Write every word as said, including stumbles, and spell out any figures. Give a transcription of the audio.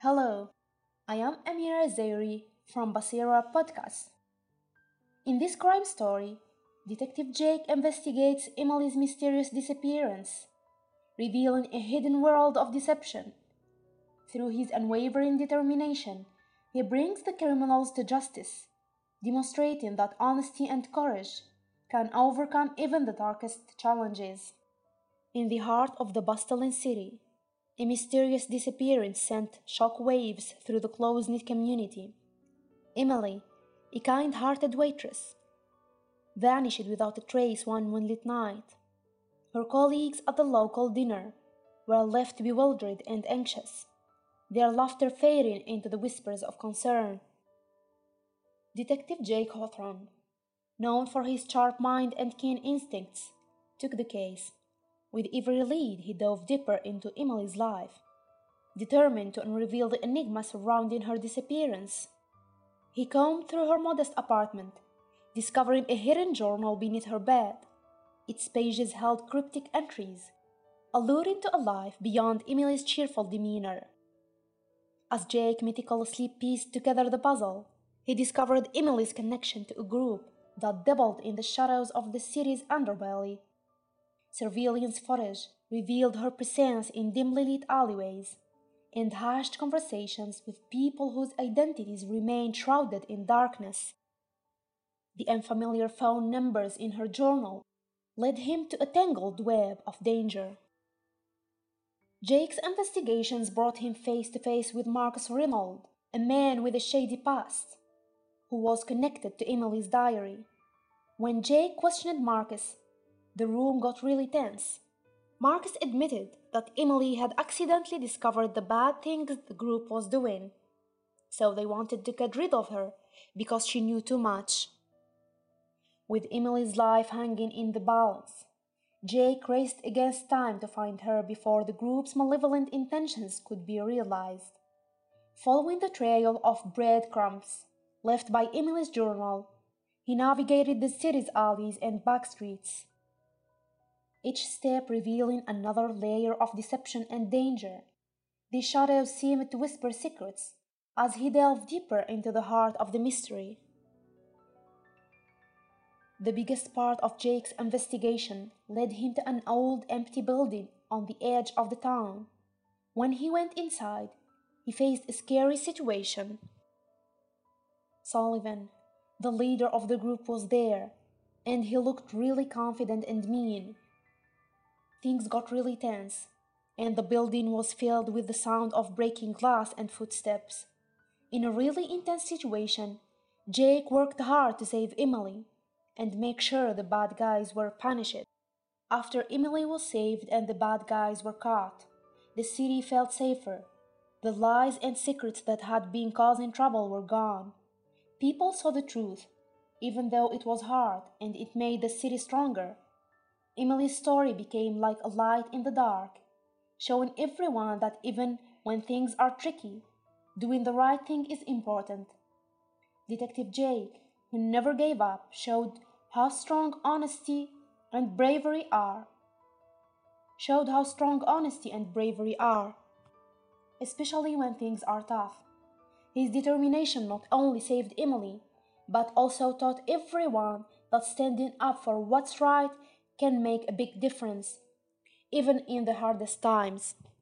Hello, I am Amira Zairi from Basira Podcast. In this crime story, Detective Jake investigates Emily's mysterious disappearance, revealing a hidden world of deception. Through his unwavering determination, he brings the criminals to justice, demonstrating that honesty and courage can overcome even the darkest challenges. In the heart of the bustling city, a mysterious disappearance sent shock waves through the close-knit community. Emily, a kind-hearted waitress, vanished without a trace one moonlit night. Her colleagues at the local dinner were left bewildered and anxious, their laughter fading into the whispers of concern. Detective Jake Hawthorne, known for his sharp mind and keen instincts, took the case. With every lead, he dove deeper into Emily's life, determined to unravel the enigma surrounding her disappearance. He combed through her modest apartment, discovering a hidden journal beneath her bed. Its pages held cryptic entries, alluring to a life beyond Emily's cheerful demeanor. As Jake meticulously pieced together the puzzle, he discovered Emily's connection to a group that dabbled in the shadows of the city's underbelly. Surveillance footage revealed her presence in dimly lit alleyways and hushed conversations with people whose identities remained shrouded in darkness. The unfamiliar phone numbers in her journal led him to a tangled web of danger. Jake's investigations brought him face to face with Marcus Reynolds, a man with a shady past, who was connected to Emily's diary. When Jake questioned Marcus, the room got really tense. Marcus admitted that Emily had accidentally discovered the bad things the group was doing, so they wanted to get rid of her because she knew too much. With Emily's life hanging in the balance, Jake raced against time to find her before the group's malevolent intentions could be realized. Following the trail of breadcrumbs left by Emily's journal, he navigated the city's alleys and back streets, each step revealing another layer of deception and danger. The shadows seemed to whisper secrets as he delved deeper into the heart of the mystery. The biggest part of Jake's investigation led him to an old empty building on the edge of the town. When he went inside, he faced a scary situation. Sullivan, the leader of the group, was there, and he looked really confident and mean. Things got really tense, and the building was filled with the sound of breaking glass and footsteps. In a really intense situation, Jake worked hard to save Emily and make sure the bad guys were punished. After Emily was saved and the bad guys were caught, the city felt safer. The lies and secrets that had been causing trouble were gone. People saw the truth, even though it was hard, and it made the city stronger. Emily's story became like a light in the dark, showing everyone that even when things are tricky, doing the right thing is important. Detective Jake, who never gave up, showed how strong honesty and bravery are. Showed how strong honesty and bravery are, especially when things are tough. His determination not only saved Emily, but also taught everyone that standing up for what's right can make a big difference, even in the hardest times.